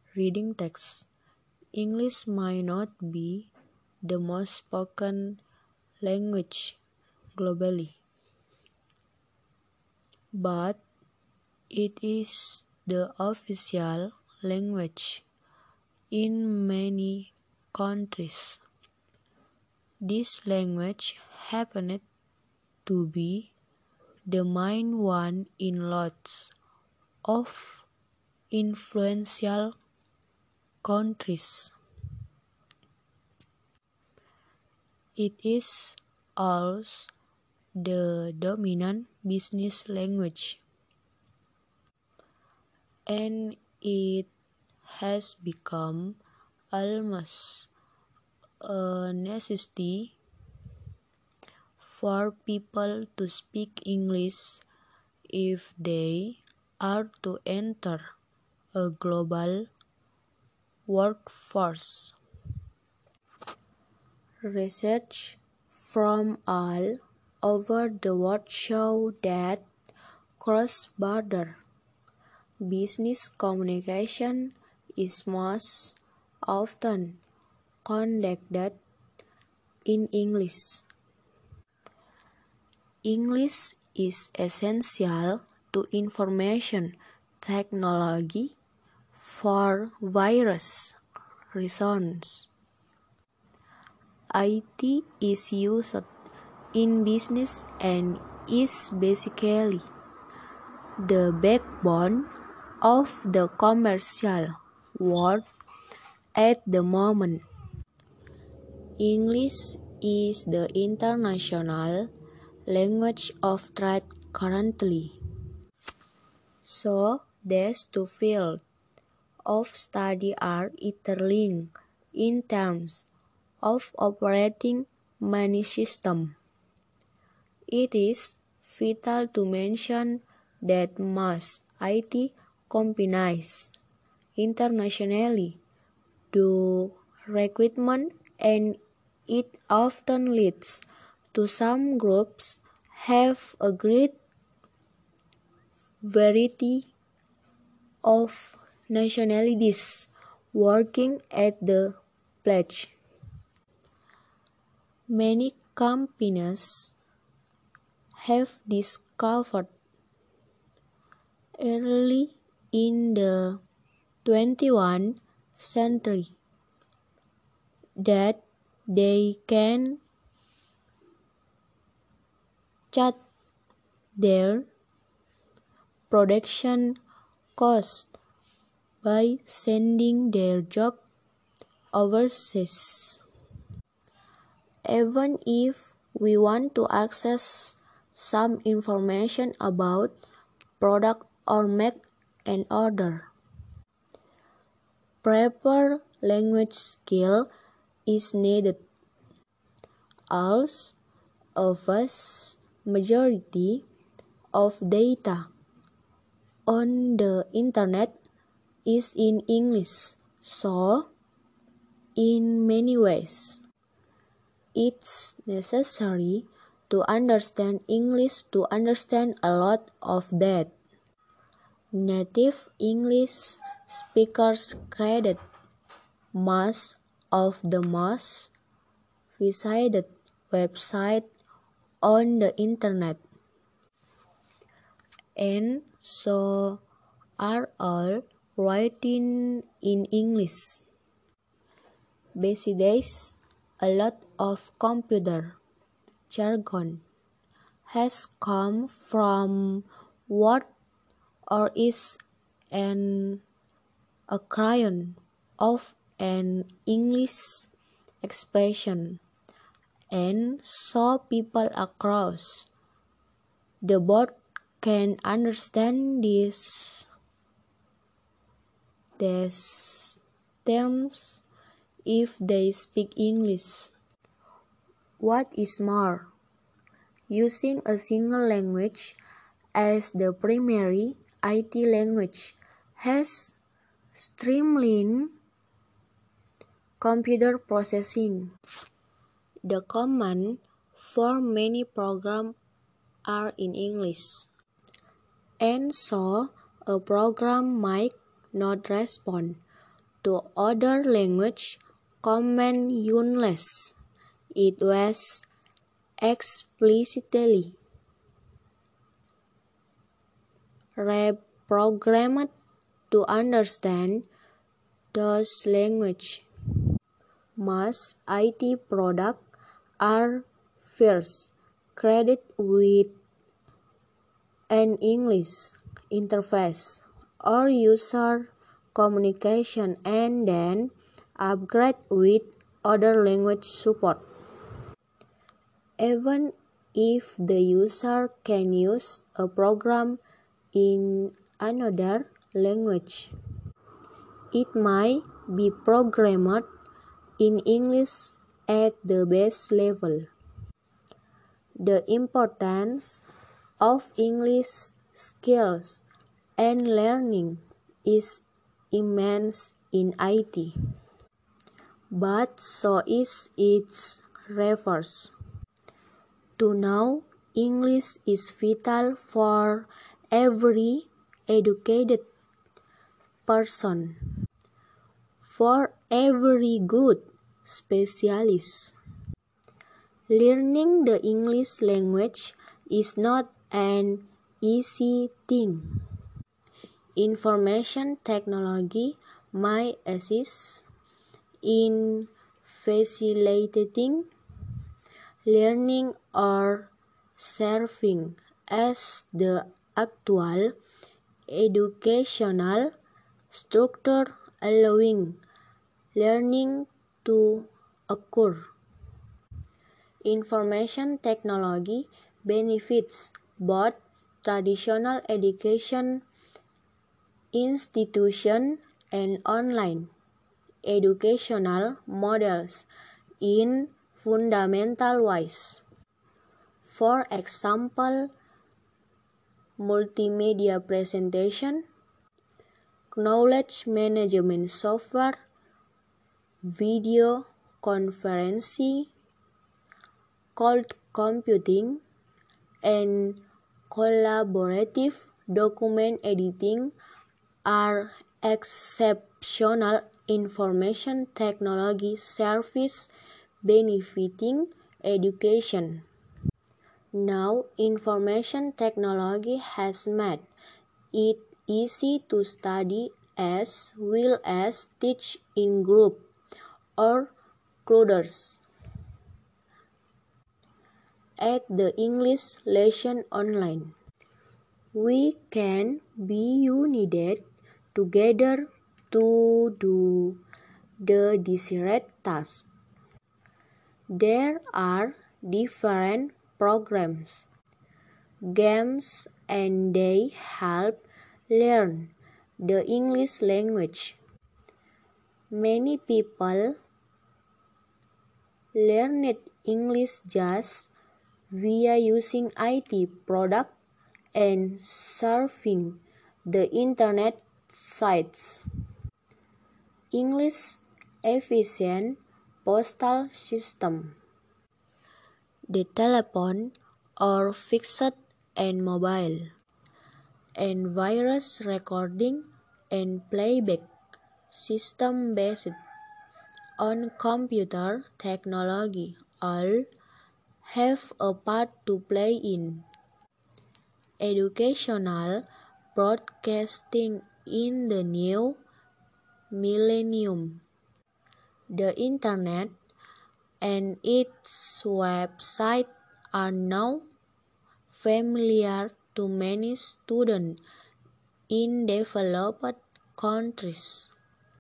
reading text. English might not be the most spoken language globally, but it is the official language in many countries. This language happened to be the main one in lots of influential countries. It is also the dominant business language, and it has become almost a necessity for people to speak English if they are to enter a global workforce. Research from all over the world show that cross-border business communication is most often conducted in English. English is essential to information technology for various reasons. IT is used in business and is basically the backbone of the commercial world at the moment. English is the international language of trade currently. So, these two fields of study are interlinked in terms of operating many systems. It is vital to mention that most IT companies internationally do recruitment, and it often leads to some groups have a great variety of nationalities working at the pledge. Many companies have discovered early in the 21st century that they can cut their production costs by sending their job overseas. Even if we want to access some information about product or make an order, proper language skill is needed. Also, a vast majority of data on the internet is in English, so in many ways, it's necessary to understand English to understand a lot of that. Native English speakers credit most of the most visited websites on the internet, and so are all written in English. Besides, a lot of computer jargon has come from word or is an acronym of an English expression, and so people across the board can understand these terms if they speak English. What is more, using a single language as the primary IT language has streamlined computer processing. The command for many programs are in English, and so a program might not respond to other language command unless it was explicitly reprogrammed to understand those language. Most IT products are first created with an English interface or user communication and then upgrade with other language support. Even if the user can use a program in another language, it might be programmed in English at the base level. The importance of English skills and learning is immense in IT, but so is its reverse. To know English is vital for every educated person, for every good specialist. Learning the English language is not an easy thing. Information technology might assist in facilitating learning or serving as the actual educational structure allowing learning to occur. Information technology benefits both traditional education institutions and online educational models in fundamental ways. For example, multimedia presentation, knowledge management software, video conferencing, cloud computing, and collaborative document editing are exceptional information technology services benefiting education. Now, information technology has made it easy to study as well as teach in group or clusters. At the English lesson online, we can be united together to do the desired task. There are different programs, games, and they help learn the English language. Many people learned English just via using IT products and surfing the internet sites. English efficient postal system, the telephone or fixed and mobile, and virus recording and playback system based on computer technology all have a part to play in educational broadcasting in the new millennium. The internet and its website are now familiar to many students in developed countries.